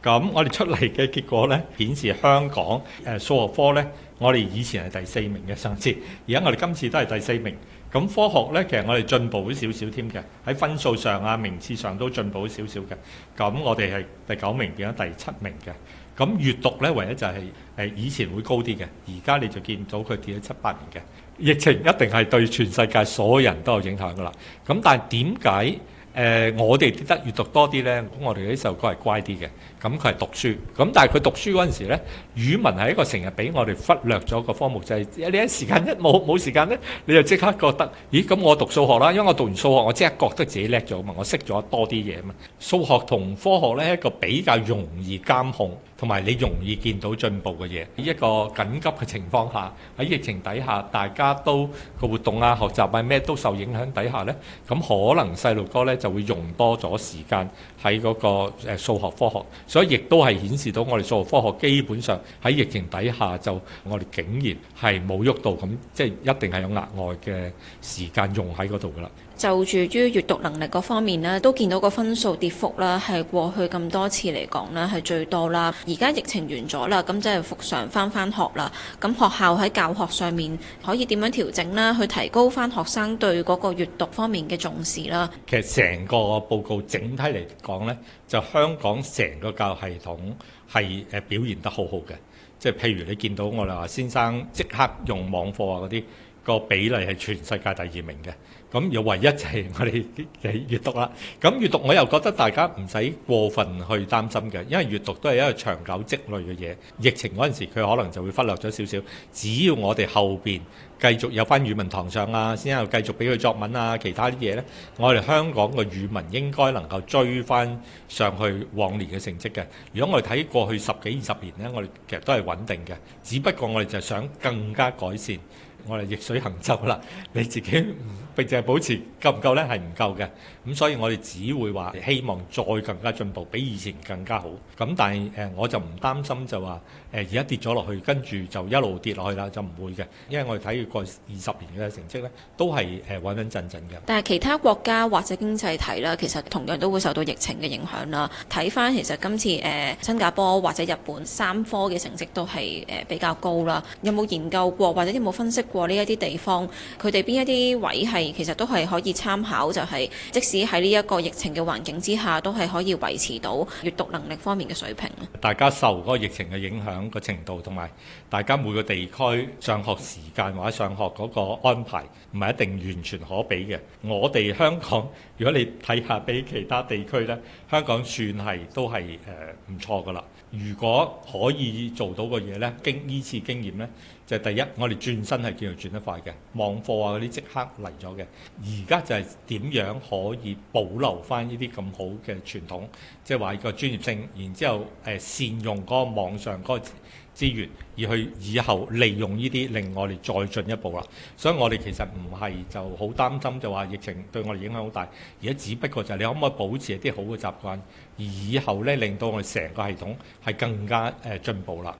咁我哋出嚟嘅結果呢，顯示香港數學科呢，我哋以前係第4名嘅上次，而家我哋今次都係第4名。咁科學呢，其實我哋進步咗少少添嘅，喺分數上啊、名次上都進步咗少少嘅。咁我哋係第9名變咗第7名嘅。咁閱讀呢，唯一就係以前會高啲嘅，而家你就見到佢跌咗7、8名嘅。疫情一定係對全世界所有人都有影響噶啦。咁但係點解我哋跌得閱讀多啲呢？咁我哋啲細路哥係乖啲嘅，咁佢係讀書。咁但係佢讀書嗰陣時呢，語文係一個成日俾我哋忽略咗個科目，就係你一時間冇時間呢，你就即刻覺得，咦？咁我讀數學啦，因為我讀完數學，我即刻覺得自己叻咗嘛，我識咗多啲嘢嘛。數學同科學呢，係一個比較容易監控，同埋你容易見到進步嘅嘢。一個緊急嘅情況下，喺疫情底下，大家都個活動啊、學習啊咩都受影響底下呢，咁可能細路哥呢就會用多咗時間喺嗰個數學科學，所以亦都係顯示到我哋數學科學基本上喺疫情底下就我哋竟然係冇喐到，咁即係一定係有額外嘅時間用喺嗰度噶啦。 就住於閱讀能力嗰方面呢，都見到個分數跌幅啦，係過去咁多次嚟講呢係最多啦。而家疫情完咗啦，咁即係復常翻學啦。咁學校喺教學上面可以點樣調整啦，去提高翻學生對嗰個閱讀方面嘅重視啦。 其實成個報告整體嚟講呢，就香港成個教育系統係表現得好好嘅。即係譬如你見到我哋話先生即刻用網課啊嗰啲，個比例係全世界第2名嘅。咁又唯一就係我哋嘅閱讀啦。咁閱讀我又覺得大家唔使過分去擔心嘅，因為閱讀都係一個長久積累嘅嘢。疫情嗰陣時佢可能就會忽略咗少少，只要我哋後邊繼續有翻語文堂上啊，先有繼續俾佢作文啊，其他啲嘢呢，我哋香港嘅語文應該能夠追翻上去往年嘅成績嘅。如果我哋睇過去10幾20年呢，我哋其實都係穩定嘅，只不過我哋就想更加改善。我哋逆水行舟啦，你自己並淨係保持夠唔夠呢？係唔夠嘅。咁所以我哋只會話希望再更加進步，比以前更加好。咁但係我就唔擔心就話而家跌咗落去，跟住就一路跌落去啦，就唔會嘅。因為我哋睇過20年嘅成績呢，都係穩穩陣陣嘅。 但係其他國家或者經濟體啦，其實同樣都會受到疫情嘅影響啦。睇翻其實今次新加坡或者日本3科嘅成績都係比較高啦。有冇研究過或者有冇分析過呢一啲地方，佢哋邊一啲位係其實都係可以參考，就係即使喺呢一個疫情嘅環境之下，都係可以維持到閱讀能力方面嘅水平。 大家受嗰個疫情嘅影響個程度，同埋大家每個地區上學時間或者上學嗰個安排，唔係一定完全可比嘅。我哋香港，如果你睇下比其他地區呢，香港算係都係唔錯噶啦。如果可以做到嘅嘢呢，呢次經驗呢，就係第一，我哋轉身係叫做轉得快嘅，網課啊嗰啲即刻嚟咗嘅。而家就係點樣可以保留翻呢啲咁好嘅傳統，即係話個專業性，然之後善用嗰個網上嗰個資源，而去以後利用呢啲令我哋再進一步啦。所以我哋其實唔係就好擔心就話疫情對我哋影響好大，而家只不過就係你可唔可以保持一啲好嘅習慣，而以後呢令到我哋成個系統係更加進步啦。